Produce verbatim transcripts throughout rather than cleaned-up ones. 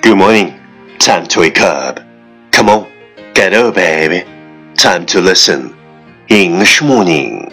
Good morning. Time to wake up. Come on, get up, baby. Time to listen. English morning.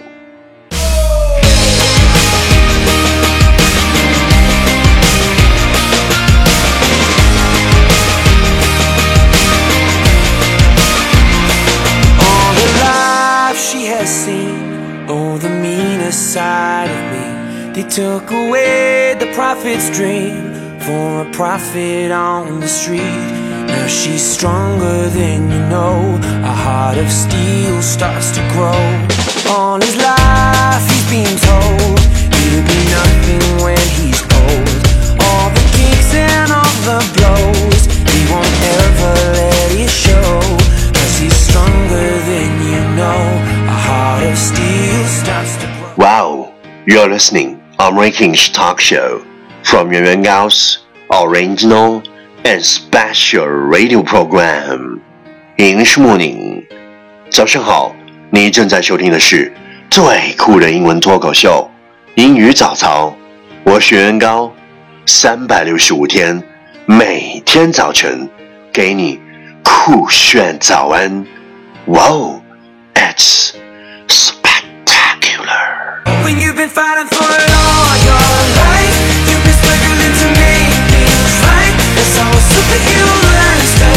All the life she has seen, oh, the meaner side of me. They took away the prophet's dream for a prophet on the street. Now she's stronger than you know. A heart of steel starts to grow. All his life he's been told he'll be nothing when he's old. All the kicks and all the blows, he won't ever let it show. Cause he's stronger than you know. A heart of steel starts to grow. Wow, you're listening American Talk Show from Yuan Yuan Gao's original and special radio program. English morning. 早上好，你正在收听的是最酷的英文脱口秀英语早操。我是袁高，三百六十五天，每天早晨给你酷炫早安。Wow, it's spectacular. When you've been fighting for it all your life, you've been struggling to make things right. That's how a superhero learns to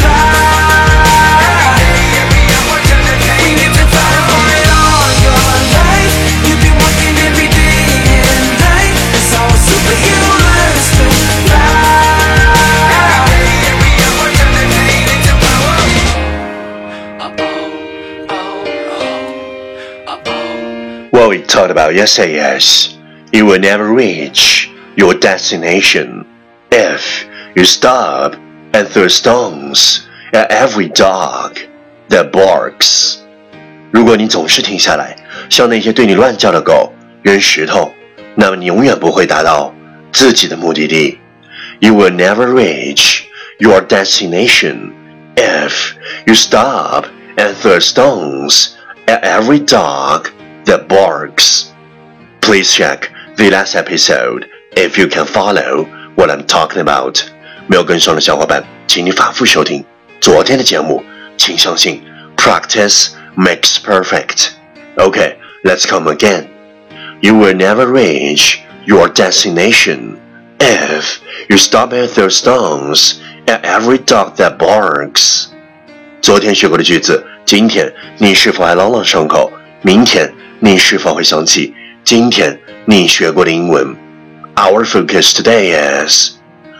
fly. When you've been fighting for it all your life, you've been working every day and night. That's how a superhero learns to What we talked about yesterday is you will never reach your destination if you stop and throw stones at every dog that barks. 如果你总是停下来，向那些对你乱叫的狗扔石头，那么你永远不会达到自己的目的地。You will never reach your destination if you stop and throw stones at every dog that barks. Please check the last episode if you can follow what I'm talking about. 没有跟上的小伙伴，请你反复收听昨天的节目。请相信 practice makes perfect. Okay, let's come again. You will never reach your destination if you stop and throw stones at every dog that barks. 昨天学过的句子，今天你是否还朗朗上口？明天你是否会想起今天你学过的英文？ Our focus today is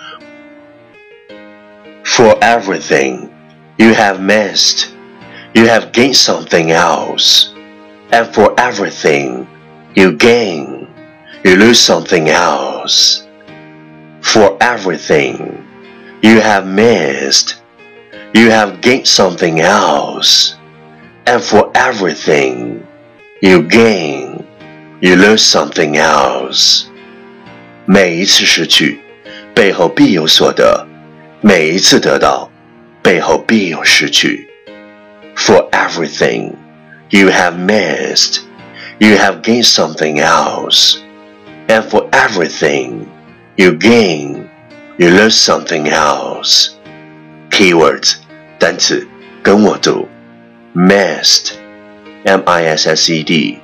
for everything you have missed, you have gained something else. And for everything you gain, you lose something else. For everything you have missed, you have gained something else. And for everything you gain, you lose something else. 每一次失去，背后必有所得；每一次得到，背后必有失去。For everything you have missed, you have gained something else. And for everything you gain, you lose something else. Keywords 单词跟我读 missed, M I S S E D,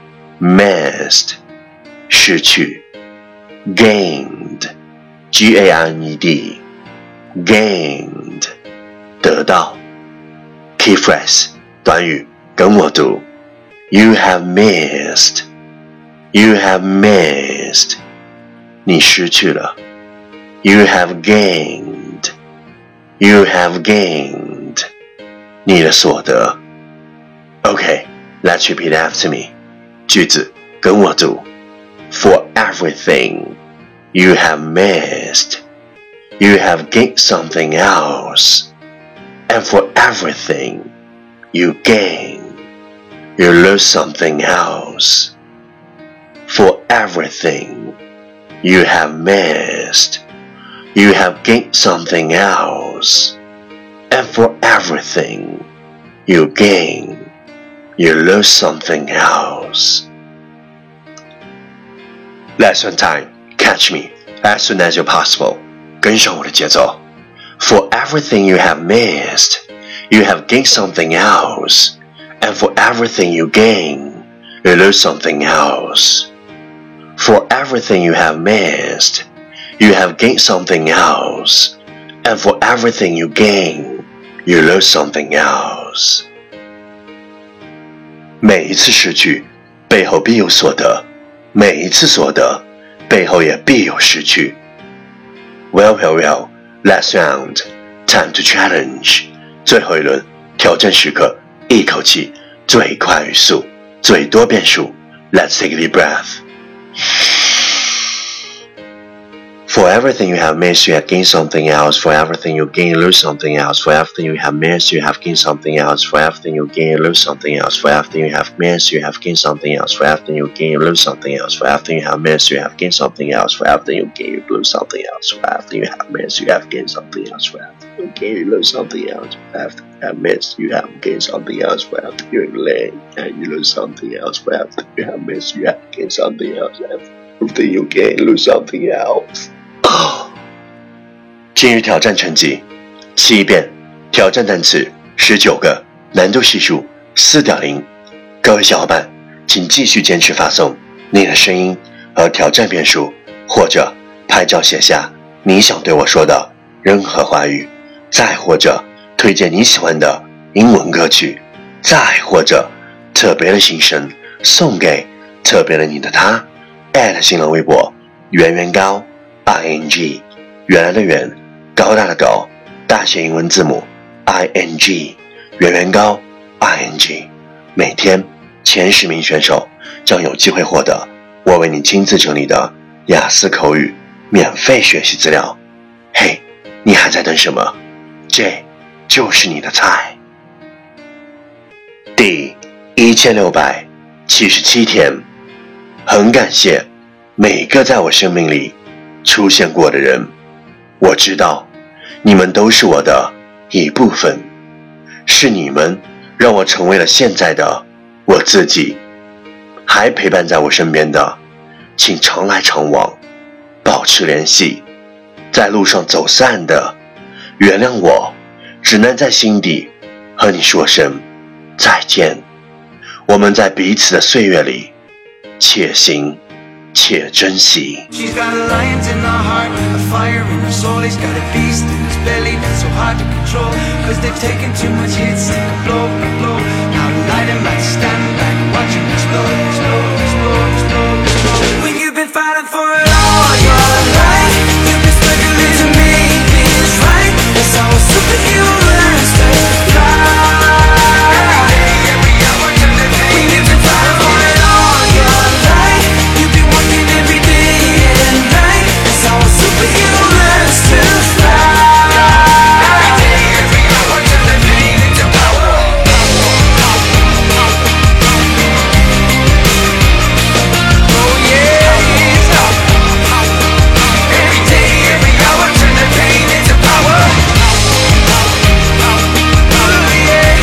missed 失去 gained, G A I N E D, gained 得到 Key phrase 短语跟我读 You have missed, you have missed 你失去了 You have gained, you have gained 你的所得 Okay, let's repeat after me 句子跟我读 For everything you have missed, you have gained something else. And for everything you gain, you lose something else. For everything you have missed, you have gained something else. And for everything you gain, you lose something else. Lesson time. Catch me as soon as you're possible. 跟上我的节奏。 For everything you have missed, you have gained something else. And for everything you gain, you lose something else. For everything you have missed, you have gained something else. And for everything you gain, you lose something else. 每一次失去，背后必有所得；每一次所得，背后也必有失去。Well, well, well, last round, time to challenge. 最后一轮，挑战时刻，一口气，最快语速，最多变数。Let's take a deep breath. For everything you have missed, you have gained something else. For everything you gain, you lose something else. For everything you have missed, you have gained something else. For everything you gain, you lose something else. For everything you have missed, you have gained something else. For everything you gain, you lose something else. For everything you have missed, you have gained something else. For everything you gain, you lose something else. For everything you have missed, you have gained something else. For everything you gain, you lose something else. For everything you have missed, you have gained something else. For everything you gain, and you lose something else. For everything you have missed, you have gained something else. Everything you gain, you lose something else. 今日挑战成绩七遍，挑战单词十九个，难度系数 四点零。 各位小伙伴请继续坚持发送你的声音和挑战遍数，或者拍照写下你想对我说的任何话语，再或者推荐你喜欢的英文歌曲，再或者特别的心声送给特别的你的他。@新浪微博圆圆高 I N G， 原来的圆，高大的高，大写英文字母 I N G， 圆圆高 I N G。 每天前十名选手将有机会获得我为你亲自整理的雅思口语免费学习资料。嘿，你还在等什么？这就是你的菜。第一千六百七十七天，很感谢每个在我生命里出现过的人，我知道你们都是我的一部分，是你们让我成为了现在的我自己。还陪伴在我身边的，请常来常往，保持联系。在路上走散的，原谅我，只能在心底和你说声再见。我们在彼此的岁月里，且行且珍惜。 She's got a lion's in her heart, a fire in her soul. He's got a beast in his belly that's so hard to control. Cause they've taken too much hits, take a blow, a blow. Now the light and might stand back, watching explode, explode, explode, explode, explode. When you've been fighting for it all your life, you've been struggling to make things right. That's how a superhero learns to fly. When you've been fighting for it all your life, you've been working every day and night. That's how a superhero learns to fly. Every day, every hour, turn the pain into power. Oh yeah, every day, every hour, turn the pain into power. Oh yeah,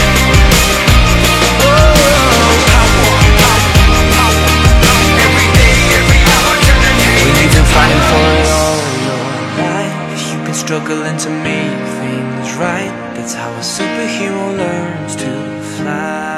every day, every hour, turn the pain. When you've been fighting for it all your life, you've been struggling to make things right. That's how a superhero learns to fly.